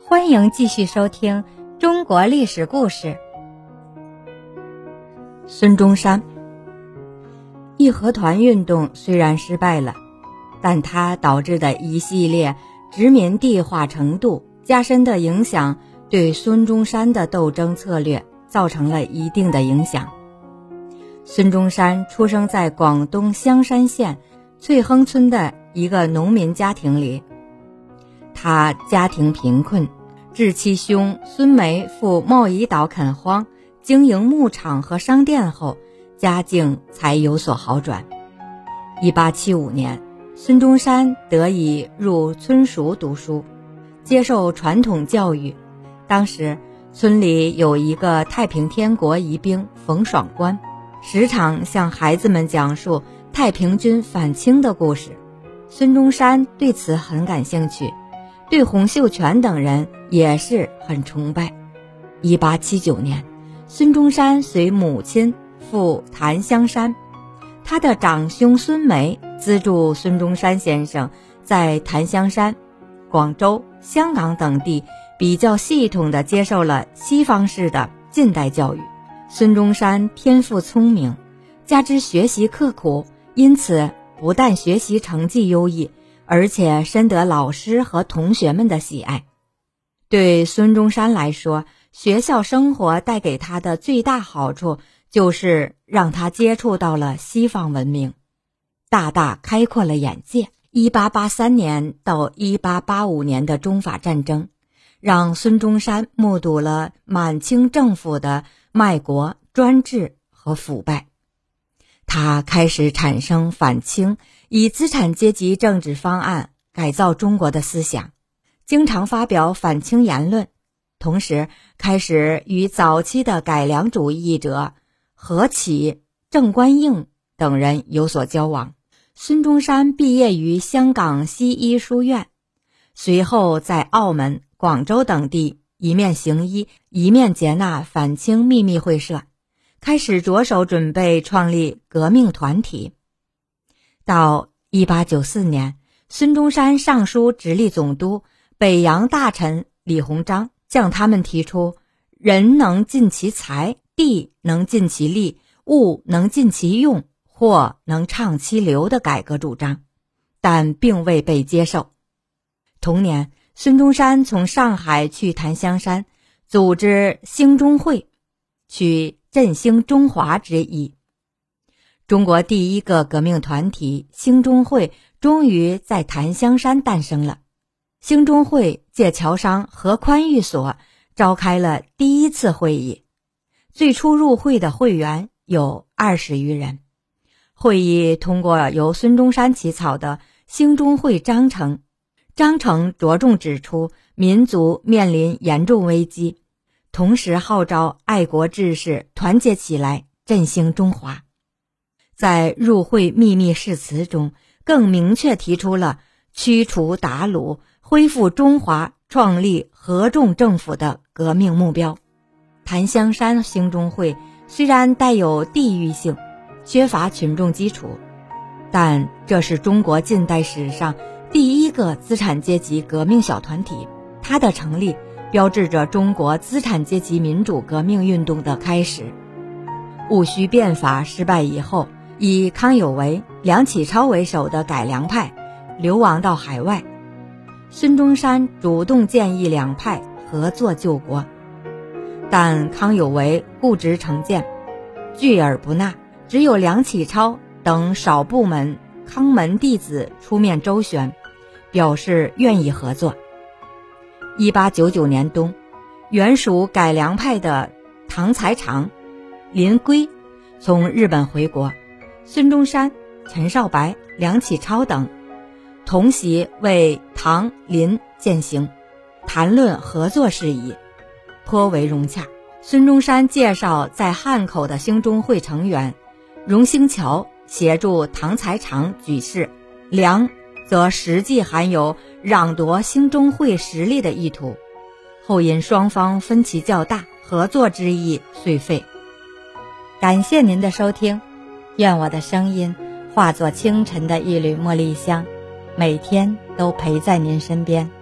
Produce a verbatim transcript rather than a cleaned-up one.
欢迎继续收听中国历史故事。孙中山，义和团运动虽然失败了，但它导致的一系列殖民地化程度加深的影响，对孙中山的斗争策略造成了一定的影响。孙中山出生在广东香山县翠亨村的一个农民家庭里，他家庭贫困，至其兄孙梅赴贸易岛垦荒，经营牧场和商店后，家境才有所好转。一八七五年，孙中山得以入村塾读书，接受传统教育。当时村里有一个太平天国遗兵冯爽官，时常向孩子们讲述太平军反清的故事。孙中山对此很感兴趣，对洪秀全等人也是很崇拜。一八七九年，孙中山随母亲赴檀香山，他的长兄孙梅资助孙中山先生在檀香山、广州、香港等地比较系统地接受了西方式的近代教育。孙中山天赋聪明，加之学习刻苦，因此不但学习成绩优异，而且深得老师和同学们的喜爱。对孙中山来说，学校生活带给他的最大好处就是让他接触到了西方文明，大大开阔了眼界。一八八三年到一八八五年的中法战争，让孙中山目睹了满清政府的卖国、专制和腐败。他开始产生反清、以资产阶级政治方案改造中国的思想，经常发表反清言论，同时开始与早期的改良主义者何启、郑观应等人有所交往。孙中山毕业于香港西医书院，随后在澳门、广州等地一面行医，一面接纳反清秘密会社，开始着手准备创立革命团体。到一八九四年，孙中山上书直隶总督、北洋大臣李鸿章，向他们提出人能尽其才，地能尽其力，物能尽其用，货能畅其流的改革主张，但并未被接受。同年，孙中山从上海去檀香山，组织兴中会，取振兴中华之意。中国第一个革命团体兴中会终于在檀香山诞生了。兴中会借侨商何宽寓所召开了第一次会议，最初入会的会员有二十余人。会议通过由孙中山起草的兴中会章程，章程着重指出民族面临严重危机，同时号召爱国志士团结起来振兴中华。在入会秘密誓词中，更明确提出了驱除鞑虏、恢复中华、创立合众政府的革命目标。檀香山兴中会虽然带有地域性，缺乏群众基础，但这是中国近代史上第一个资产阶级革命小团体，它的成立标志着中国资产阶级民主革命运动的开始。戊戌变法失败以后，以康有为、梁启超为首的改良派流亡到海外，孙中山主动建议两派合作救国，但康有为固执成见，拒而不纳，只有梁启超等少部门康门弟子出面周旋，表示愿意合作。一八九九年冬，原属改良派的唐才常、林圭从日本回国，孙中山、陈少白、梁启超等同席为唐林饯行，谈论合作事宜，颇为融洽。孙中山介绍在汉口的兴中会成员，荣兴桥协助唐才常举事，梁则实际含有攘夺兴中会实力的意图，后因双方分歧较大，合作之意遂废。感谢您的收听，愿我的声音化作清晨的一缕茉莉香，每天都陪在您身边。